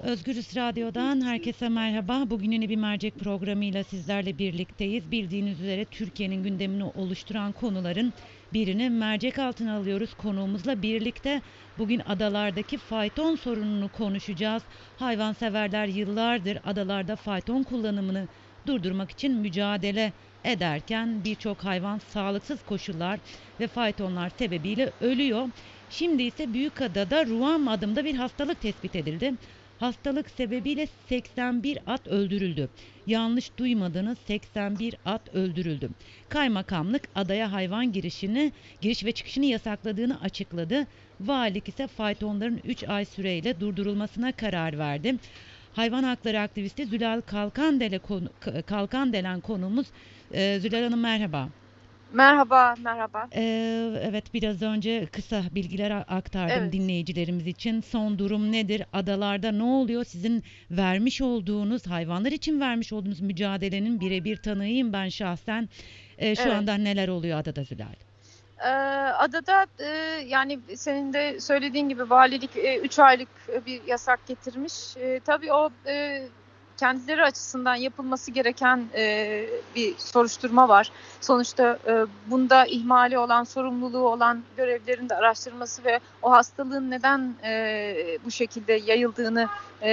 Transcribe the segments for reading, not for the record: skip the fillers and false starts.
Özgürüz Radyo'dan herkese merhaba. Bugün yeni bir mercek programıyla sizlerle birlikteyiz. Bildiğiniz üzere Türkiye'nin gündemini oluşturan konuların birini mercek altına alıyoruz. Konuğumuzla birlikte bugün adalardaki fayton sorununu konuşacağız. Hayvanseverler yıllardır adalarda fayton kullanımını durdurmak için mücadele ederken birçok hayvan sağlıksız koşullar ve faytonlar sebebiyle ölüyor. Şimdi ise Büyükada'da Ruam adında bir hastalık tespit edildi. Hastalık sebebiyle 81 at öldürüldü. Yanlış duymadınız, 81 at öldürüldü. Kaymakamlık adaya hayvan giriş ve çıkışını yasakladığını açıkladı. Valilik ise faytonların 3 ay süreyle durdurulmasına karar verdi. Hayvan hakları aktivisti Zülal Kalkandelen konuğumuz. Zülal Hanım merhaba. Merhaba, merhaba. Evet, biraz önce kısa bilgiler aktardım Evet, dinleyicilerimiz için. Son durum nedir? Adalarda ne oluyor? Sizin hayvanlar için vermiş olduğunuz mücadelenin birebir tanığıyım ben şahsen. Şu evet. anda neler oluyor adada Zülal? Adada yani senin de söylediğin gibi valilik 3 aylık bir yasak getirmiş. Tabii o kendileri açısından yapılması gereken bir soruşturma var. Sonuçta bunda ihmali olan, sorumluluğu olan görevlerin de araştırılması ve o hastalığın neden bu şekilde yayıldığını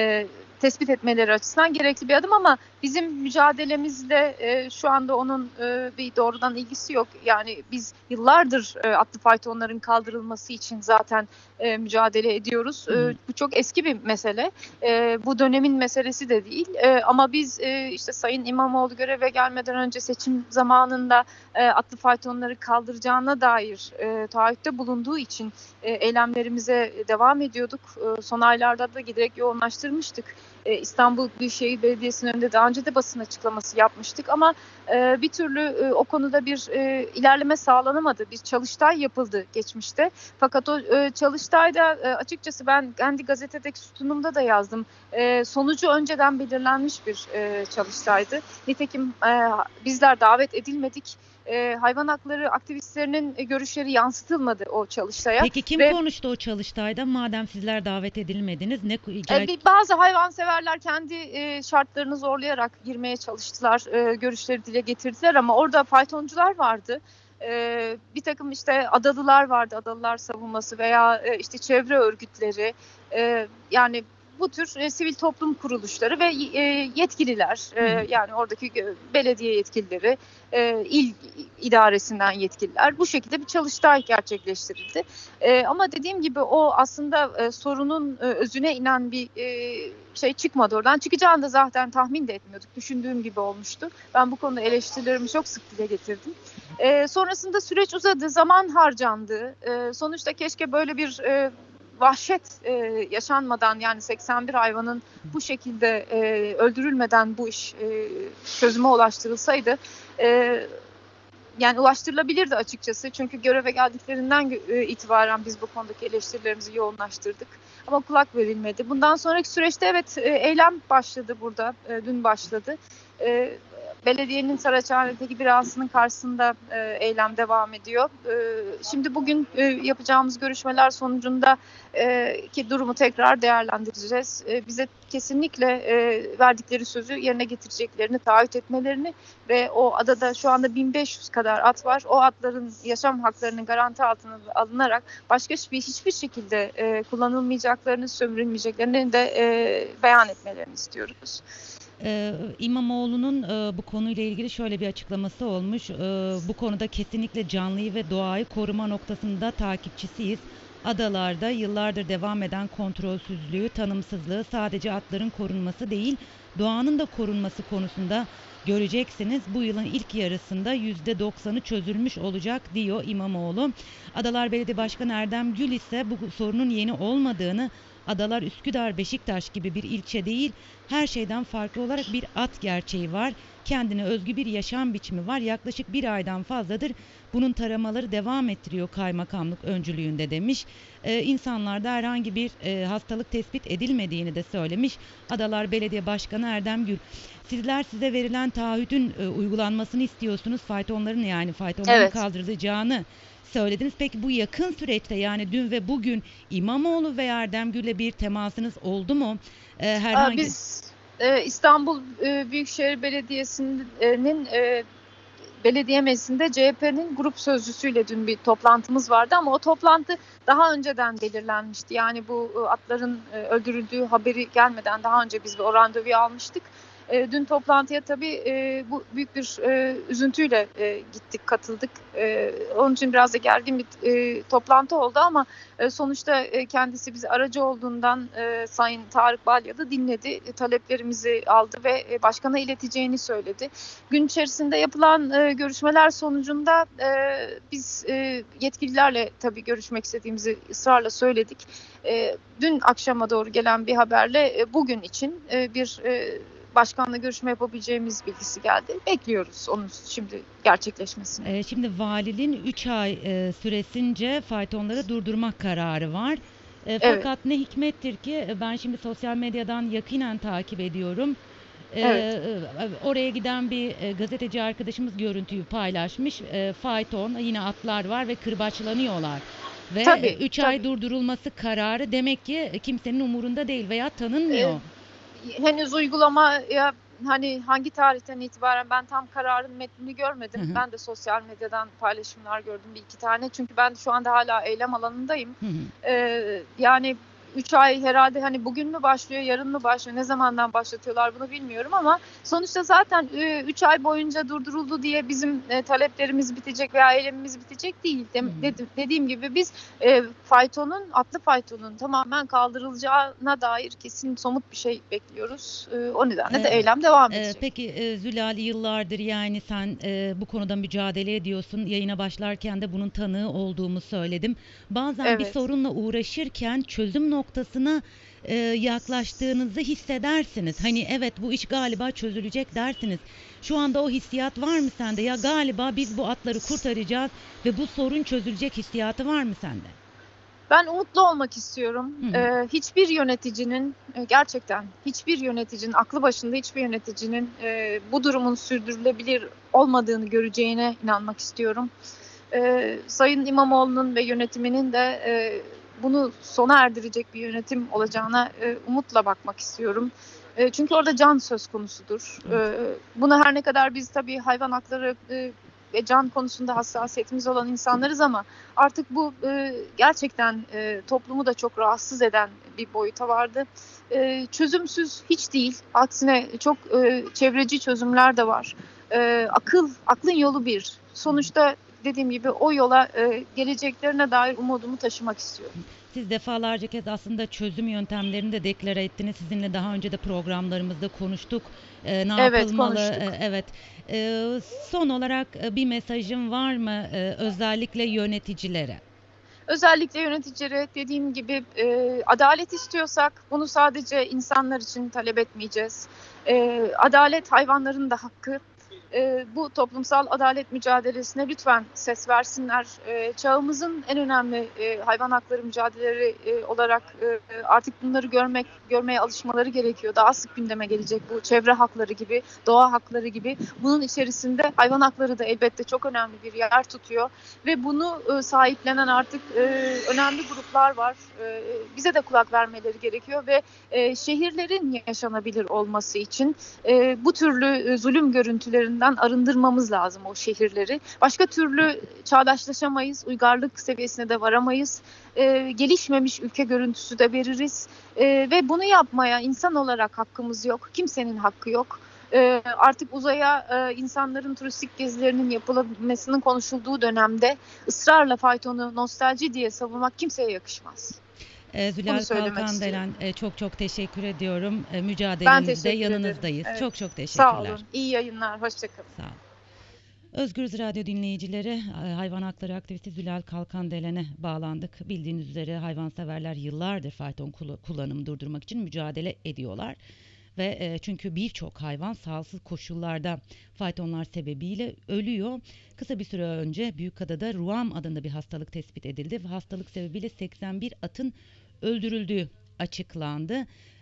tespit etmeleri açısından gerekli bir adım ama bizim mücadelemizle şu anda onun bir doğrudan ilgisi yok. Yani biz yıllardır atlı faytonların kaldırılması için zaten mücadele ediyoruz. Hı hı. Bu çok eski bir mesele. Bu dönemin meselesi de değil. Ama biz işte Sayın İmamoğlu göreve gelmeden önce seçim zamanında atlı faytonları kaldıracağına dair taahhütte bulunduğu için eylemlerimize devam ediyorduk. Son aylarda da giderek yoğunlaştırmıştık. İstanbul Büyükşehir Belediyesi'nin önünde daha önce de basın açıklaması yapmıştık ama bir türlü o konuda bir ilerleme sağlanamadı. Bir çalıştay yapıldı geçmişte. Fakat o çalıştayda açıkçası ben kendi gazetedeki sütunumda da yazdım. Sonucu önceden belirlenmiş bir çalıştaydı. Nitekim bizler davet edilmedik. Hayvan hakları aktivistlerinin görüşleri yansıtılmadı o çalıştaya Peki kim ve konuştu o çalıştayda? Madem sizler davet edilmediniz, ne gel bazı hayvanseverler kendi şartlarını zorlayarak girmeye çalıştılar, görüşleri dile getirdiler ama orada faytoncular vardı. Bir takım işte adalılar vardı, adalılar savunması veya işte çevre örgütleri, yani bu tür sivil toplum kuruluşları ve yetkililer, Hı hı. yani oradaki belediye yetkilileri, il idaresinden yetkililer bu şekilde bir çalıştay gerçekleştirildi. Ama dediğim gibi o aslında sorunun özüne inen bir şey çıkmadı oradan. Çıkacağını da zaten tahmin de etmiyorduk. Düşündüğüm gibi olmuştu. Ben bu konuda eleştirilerimi çok sık dile getirdim. Sonrasında süreç uzadı, zaman harcandı. Sonuçta keşke böyle bir vahşet yaşanmadan yani 81 hayvanın bu şekilde öldürülmeden bu iş çözüme ulaştırılsaydı. E, Yani ulaştırılabilirdi açıkçası. Çünkü göreve geldiklerinden itibaren biz bu konudaki eleştirilerimizi yoğunlaştırdık. Ama kulak verilmedi. Bundan sonraki süreçte evet eylem başladı burada. Dün başladı. E, Belediyenin Saraçhane'deki binasının karşısında eylem devam ediyor. Şimdi bugün yapacağımız görüşmeler sonucunda ki durumu tekrar değerlendireceğiz. Bize kesinlikle verdikleri sözü yerine getireceklerini taahhüt etmelerini ve o adada şu anda 1500 kadar at var. O atların yaşam haklarının garanti altına alınarak başka hiçbir şekilde kullanılmayacaklarını, sömürülmeyeceklerini de beyan etmelerini istiyoruz. İmamoğlu'nun bu konuyla ilgili şöyle bir açıklaması olmuş. Bu konuda kesinlikle canlıyı ve doğayı koruma noktasında takipçisiyiz. Adalarda yıllardır devam eden kontrolsüzlüğü, tanımsızlığı sadece atların korunması değil, doğanın da korunması konusunda göreceksiniz. Bu yılın ilk yarısında %90'ı çözülmüş olacak diyor İmamoğlu. Adalar Belediye Başkanı Erdem Gül ise bu sorunun yeni olmadığını, Adalar Üsküdar, Beşiktaş gibi bir ilçe değil, her şeyden farklı olarak bir at gerçeği var. Kendine özgü bir yaşam biçimi var. Yaklaşık bir aydan fazladır bunun taramaları devam ettiriyor kaymakamlık öncülüğünde demiş. İnsanlarda herhangi bir hastalık tespit edilmediğini de söylemiş. Adalar Belediye Başkanı Erdem Gül. Sizler size verilen taahhüdün uygulanmasını istiyorsunuz. Faytonların Evet. kaldırılacağını söylediniz. Peki bu yakın süreçte, yani dün ve bugün, İmamoğlu ve Erdem Gül'le bir temasınız oldu mu? Herhangi... Biz İstanbul Büyükşehir Belediyesi'nin belediye meclisinde CHP'nin grup sözcüsüyle dün bir toplantımız vardı ama o toplantı daha önceden belirlenmişti. Yani bu atların öldürüldüğü haberi gelmeden daha önce biz bir randevu almıştık. Dün toplantıya tabii bu büyük bir üzüntüyle gittik, katıldık. Onun için biraz da gergin bir toplantı oldu ama sonuçta kendisi bize aracı olduğundan Sayın Tarık Balya da dinledi, taleplerimizi aldı ve başkana ileteceğini söyledi. Gün içerisinde yapılan görüşmeler sonucunda biz yetkililerle tabii görüşmek istediğimizi ısrarla söyledik. Dün akşama doğru gelen bir haberle bugün için bir başkanla görüşme yapabileceğimiz bilgisi geldi. Bekliyoruz onun şimdi gerçekleşmesini. Şimdi valiliğin 3 ay süresince faytonları durdurmak kararı var. Evet, Fakat ne hikmettir ki ben şimdi sosyal medyadan yakinen takip ediyorum. evet. Oraya giden bir gazeteci arkadaşımız görüntüyü paylaşmış. Fayton, yine atlar var ve kırbaçlanıyorlar. Ve Tabii, 3 ay tabii. durdurulması kararı demek ki kimsenin umurunda değil veya E, tanınmıyor. Henüz uygulamaya hani hangi tarihten itibaren ben tam kararın metnini Hı görmedim. hı, Ben de sosyal medyadan paylaşımlar gördüm bir iki tane. Çünkü ben şu anda hala eylem alanındayım. hı hı. Yani 3 ay herhalde hani bugün mü başlıyor, yarın mı başlıyor, ne zamandan başlatıyorlar bunu bilmiyorum ama sonuçta zaten 3 ay boyunca durduruldu diye bizim taleplerimiz bitecek veya eylemimiz bitecek değil. Hı hı. Dediğim gibi biz atlı faytonun tamamen kaldırılacağına dair kesin somut bir şey bekliyoruz. O nedenle de Ee, eylem devam edecek. peki Zülal, yıllardır yani sen bu konuda mücadele ediyorsun. Yayına başlarken de bunun tanığı olduğumu söyledim. Bazen bir Evet. sorunla uğraşırken çözüm noktasına yaklaştığınızı hissedersiniz. Hani evet, bu iş galiba çözülecek dersiniz. Şu anda o hissiyat var mı sende? Ya galiba biz bu atları kurtaracağız ve bu sorun çözülecek hissiyatı var mı sende? Ben umutlu olmak istiyorum. Hı hı. Hiçbir yöneticinin gerçekten hiçbir yöneticinin aklı başında hiçbir yöneticinin bu durumun sürdürülebilir olmadığını göreceğine inanmak istiyorum. Sayın İmamoğlu'nun ve yönetiminin de bunu sona erdirecek bir yönetim olacağına umutla bakmak istiyorum. Çünkü orada can söz konusudur. Evet. Buna her ne kadar biz tabii hayvan hakları ve can konusunda hassasiyetimiz olan insanlarız ama artık bu gerçekten toplumu da çok rahatsız eden bir boyuta vardı. Çözümsüz hiç değil. Aksine çok çevreci çözümler de var. Aklın yolu bir. Hı hı. Sonuçta dediğim gibi o yola geleceklerine dair umudumu taşımak istiyorum. Siz defalarca kez aslında çözüm yöntemlerini de deklare ettiniz. Sizinle daha önce de programlarımızda konuştuk. Ne Evet, yapılmalı? konuştuk. Evet. Son olarak bir mesajın var mı özellikle yöneticilere? Özellikle yöneticilere dediğim gibi adalet istiyorsak bunu sadece insanlar için talep etmeyeceğiz. Adalet hayvanların da hakkı. Bu toplumsal adalet mücadelesine lütfen ses versinler. Çağımızın en önemli hayvan hakları mücadeleleri olarak artık bunları görmeye alışmaları gerekiyor. Daha sık gündeme gelecek bu çevre hakları gibi, doğa hakları gibi. Bunun içerisinde hayvan hakları da elbette çok önemli bir yer tutuyor ve bunu sahiplenen artık önemli gruplar var. Bize de kulak vermeleri gerekiyor ve şehirlerin yaşanabilir olması için bu türlü zulüm görüntülerinden arındırmamız lazım o şehirleri. Başka türlü çağdaşlaşamayız, uygarlık seviyesine de varamayız. Gelişmemiş ülke görüntüsü de veririz. Ve bunu yapmaya insan olarak hakkımız yok. Kimsenin hakkı yok. Artık uzaya insanların turistik gezilerinin yapılmasının konuşulduğu dönemde ısrarla faytonu nostalji diye savunmak kimseye yakışmaz. Bunu Zülal söylemek istiyorum. Kalkandelen, çok çok teşekkür ediyorum. Ben Mücadelenizde teşekkür ederim. yanınızdayız. Evet. Çok çok Sağ teşekkürler. olun. İyi yayınlar. Hoşçakalın. Sağ olun. Özgürüz Radyo dinleyicileri, hayvan hakları aktivisti Zülal Kalkandelen'e bağlandık. Bildiğiniz üzere hayvanseverler yıllardır fayton kullanımı durdurmak için mücadele ediyorlar. Ve çünkü birçok hayvan sağlıksız koşullarda faytonlar sebebiyle ölüyor. Kısa bir süre önce Büyükada'da Ruam adında bir hastalık tespit edildi ve hastalık sebebiyle 81 atın öldürüldüğü açıklandı.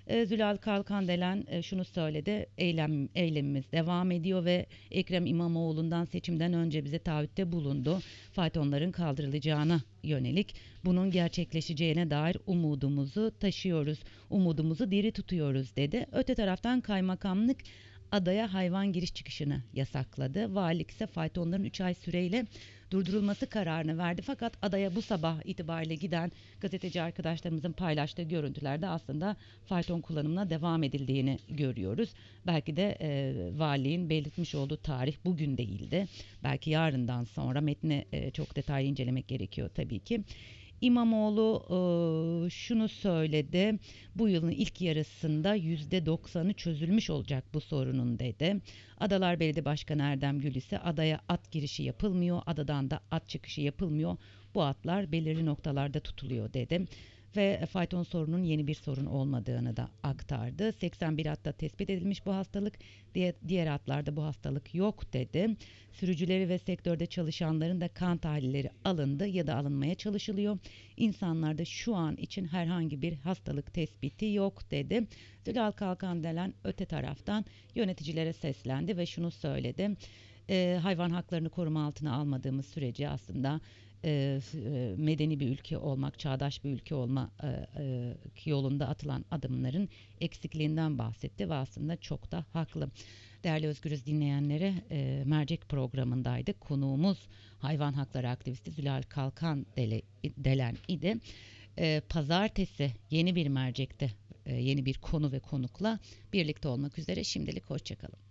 Zülal Kalkandelen şunu söyledi, eylemimiz devam ediyor ve Ekrem İmamoğlu'ndan seçimden önce bize taahhütte bulundu. Faytonların kaldırılacağına yönelik, bunun gerçekleşeceğine dair umudumuzu taşıyoruz, umudumuzu diri tutuyoruz dedi. Öte taraftan kaymakamlık adaya hayvan giriş çıkışını yasakladı. Valilik ise faytonların 3 ay süreyle durdurulması kararını verdi. Fakat adaya bu sabah itibariyle giden gazeteci arkadaşlarımızın paylaştığı görüntülerde aslında fayton kullanımına devam edildiğini görüyoruz. Belki de valiliğin belirtmiş olduğu tarih bugün değildi. Belki yarından sonra metni çok detaylı incelemek gerekiyor tabii ki. İmamoğlu şunu söyledi, bu yılın ilk yarısında %90'ı çözülmüş olacak bu sorunun dedi. Adalar Belediye Başkanı Erdem Gül ise adaya at girişi yapılmıyor, adadan da at çıkışı yapılmıyor. Bu atlar belirli noktalarda tutuluyor dedi. Ve fayton sorunun yeni bir sorun olmadığını da aktardı. 81 atta tespit edilmiş bu hastalık, diğer atlarda bu hastalık yok dedi. Sürücüleri ve sektörde çalışanların da kan tahlilleri alındı ya da alınmaya çalışılıyor. İnsanlarda şu an için herhangi bir hastalık tespiti yok dedi. Zülal Kalkandelen öte taraftan yöneticilere seslendi ve şunu söyledi. Hayvan haklarını koruma altına almadığımız sürece aslında medeni bir ülke olmak, çağdaş bir ülke olma yolunda atılan adımların eksikliğinden bahsetti ve aslında çok da haklı. Değerli Özgürüz dinleyenlere, mercek programındaydı. Konuğumuz hayvan hakları aktivisti Zülal Kalkandelen idi. Pazartesi yeni bir mercekte yeni bir konu ve konukla birlikte olmak üzere. Şimdilik hoşçakalın.